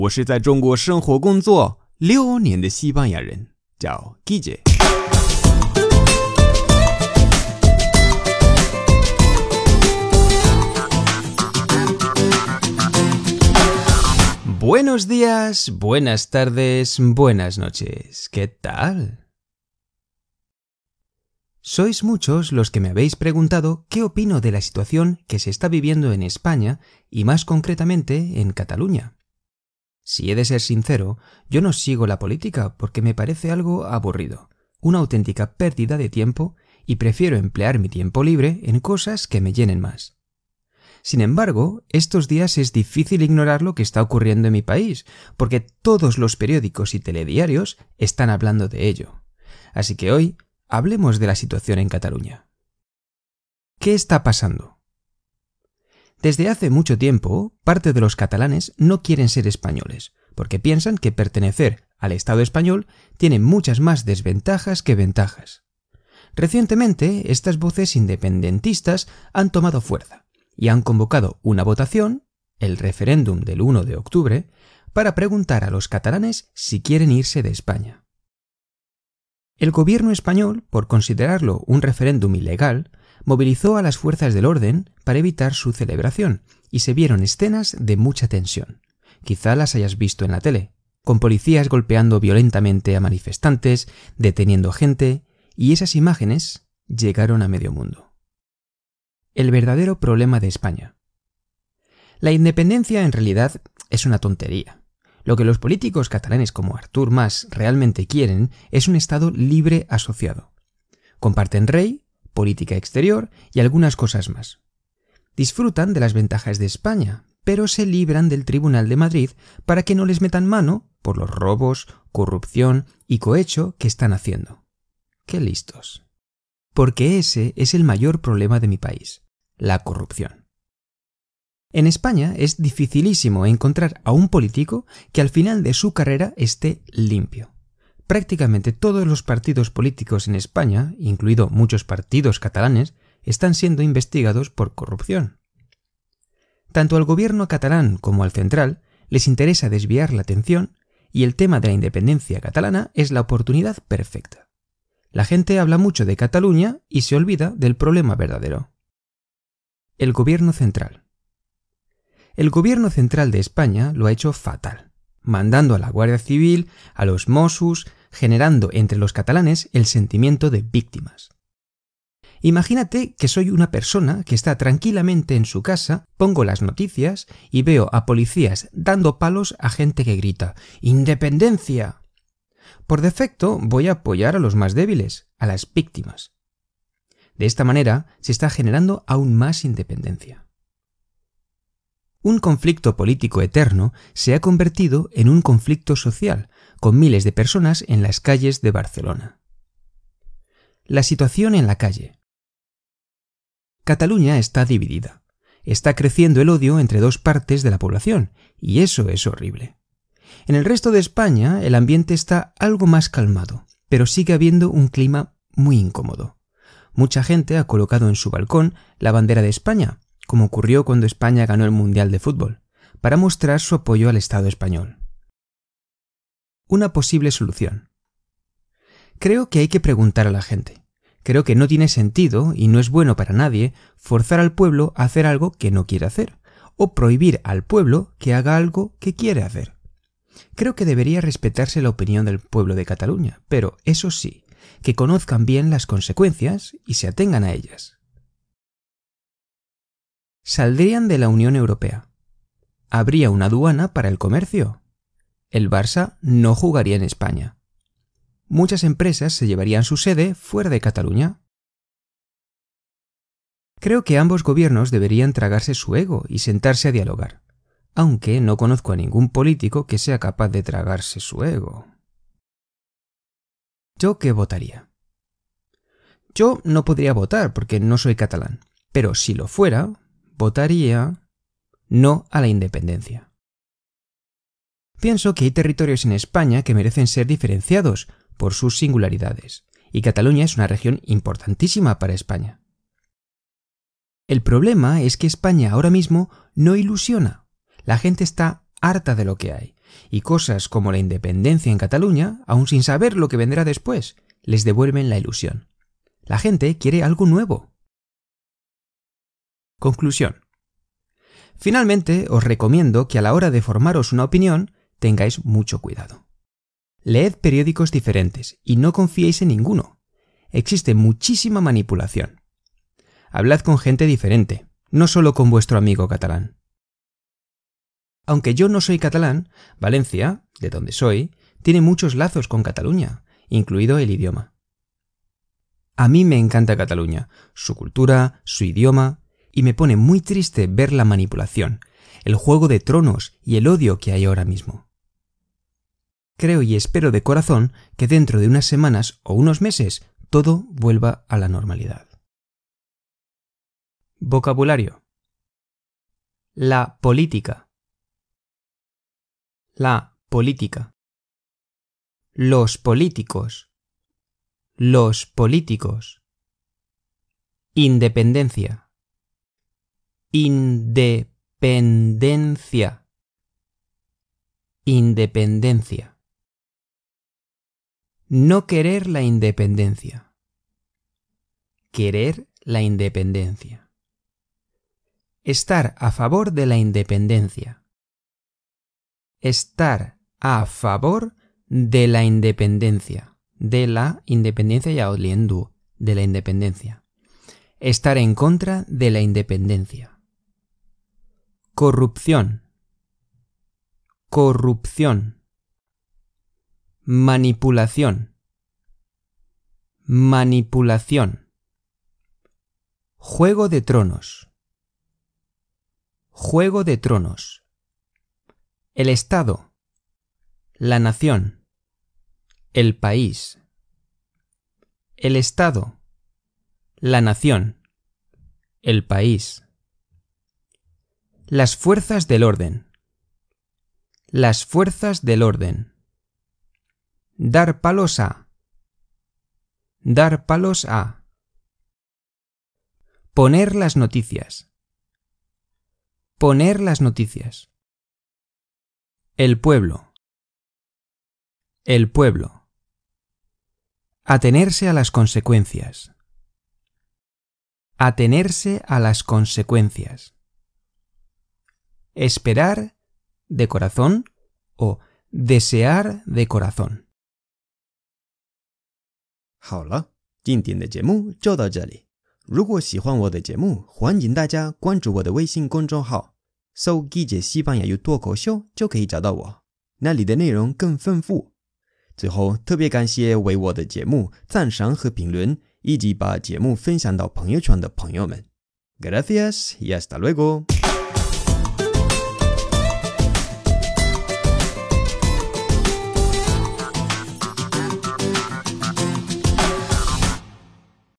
我是在中国生活工作6年的西班牙人，叫 Guille。Buenos días, buenas tardes, buenas noches. ¿Qué tal? Sois muchos los que me habéis preguntado qué opino de la situación que se está viviendo en España y más concretamente en Cataluña. Si he de ser sincero, yo no sigo la política porque me parece algo aburrido, una auténtica pérdida de tiempo y prefiero emplear mi tiempo libre en cosas que me llenen más. Sin embargo, estos días es difícil ignorar lo que está ocurriendo en mi país, porque todos los periódicos y telediarios están hablando de ello. Así que hoy hablemos de la situación en Cataluña. ¿Qué está pasando? Desde hace mucho tiempo, parte de los catalanes no quieren ser españoles, porque piensan que pertenecer al Estado español tiene muchas más desventajas que ventajas. Recientemente, estas voces independentistas han tomado fuerza y han convocado una votación, el referéndum del 1 de octubre, para preguntar a los catalanes si quieren irse de España. El gobierno español, por considerarlo un referéndum ilegal, movilizó a las fuerzas del orden para evitar su celebración, y se vieron escenas de mucha tensión. Quizá las hayas visto en la tele, con policías golpeando violentamente a manifestantes, deteniendo gente, y esas imágenes llegaron a medio mundo. El verdadero problema de España. La independencia en realidad es una tontería. Lo que los políticos catalanes como Artur Mas realmente quieren es un Estado libre asociado. Comparten rey, política exterior y algunas cosas más. Disfrutan de las ventajas de España, pero se libran del Tribunal de Madrid para que no les metan mano por los robos, corrupción y cohecho que están haciendo. ¡Qué listos! Porque ese es el mayor problema de mi país, la corrupción. En España es dificilísimo encontrar a un político que al final de su carrera esté limpio. Prácticamente todos los partidos políticos en España, incluido muchos partidos catalanes, están siendo investigados por corrupción. Tanto al gobierno catalán como al central les interesa desviar la atención y el tema de la independencia catalana es la oportunidad perfecta. La gente habla mucho de Cataluña y se olvida del problema verdadero. El gobierno central. El gobierno central de España lo ha hecho fatal, mandando a la Guardia Civil, a los Mossos, generando entre los catalanes el sentimiento de víctimas. Imagínate que soy una persona que está tranquilamente en su casa, pongo las noticias y veo a policías dando palos a gente que grita ¡Independencia! Por defecto voy a apoyar a los más débiles, a las víctimas. De esta manera se está generando aún más independencia. Un conflicto político eterno se ha convertido en un conflicto social, con miles de personas en las calles de Barcelona. La situación en la calle. Cataluña está dividida. Está creciendo el odio entre dos partes de la población, y eso es horrible. En el resto de España el ambiente está algo más calmado, pero sigue habiendo un clima muy incómodo. Mucha gente ha colocado en su balcón la bandera de España, como ocurrió cuando España ganó el Mundial de Fútbol, para mostrar su apoyo al Estado español. Una posible solución. Creo que hay que preguntar a la gente. Creo que no tiene sentido y no es bueno para nadie forzar al pueblo a hacer algo que no quiere hacer, o prohibir al pueblo que haga algo que quiere hacer. Creo que debería respetarse la opinión del pueblo de Cataluña, pero eso sí, que conozcan bien las consecuencias y se atengan a ellas. Saldrían de la Unión Europea. Habría una aduana para el comercio. El Barça no jugaría en España. Muchas empresas se llevarían su sede fuera de Cataluña. Creo que ambos gobiernos deberían tragarse su ego y sentarse a dialogar, aunque no conozco a ningún político que sea capaz de tragarse su ego. ¿Yo qué votaría? Yo no podría votar porque no soy catalán, pero si lo fuera, votaría no a la independencia. Pienso que hay territorios en España que merecen ser diferenciados por sus singularidades, y Cataluña es una región importantísima para España. El problema es que España ahora mismo no ilusiona. La gente está harta de lo que hay, y cosas como la independencia en Cataluña, aun sin saber lo que vendrá después, les devuelven la ilusión. La gente quiere algo nuevo. Conclusión. Finalmente, os recomiendo que a la hora de formaros una opinión tengáis mucho cuidado. Leed periódicos diferentes y no confiéis en ninguno. Existe muchísima manipulación. Hablad con gente diferente, no solo con vuestro amigo catalán. Aunque yo no soy catalán, Valencia, de donde soy, tiene muchos lazos con Cataluña, incluido el idioma. A mí me encanta Cataluña, su cultura, su idioma, y me pone muy triste ver la manipulación, el juego de tronos y el odio que hay ahora mismo. Creo y espero de corazón que dentro de unas semanas o unos meses todo vuelva a la normalidad. Vocabulario. La política. La política. Los políticos. Los políticos. Independencia. Independencia. Independencia. No querer la independencia. Querer la independencia. Estar a favor de la independencia. Estar a favor de la independencia. De la independencia ya oliendo. De la independencia. Estar en contra de la independencia. Corrupción. Corrupción. Manipulación. Manipulación. Juego de tronos. Juego de tronos. El Estado. La nación. El país. El Estado. La nación. El país. Las fuerzas del orden. Las fuerzas del orden. Dar palos a. Dar palos a. Poner las noticias. Poner las noticias. El pueblo. El pueblo. Atenerse a las consecuencias. Atenerse a las consecuencias. Esperar de corazón o desear de corazón. 好了，今天的节目就到这里。如果喜欢我的节目，欢迎大家关注我的微信公众号，搜“记者西班牙语脱口秀”就可以找到我，那里的内容更丰富。最后，特别感谢为我的节目赞赏和评论，以及把节目分享到朋友圈的朋友们。Gracias y hasta luego。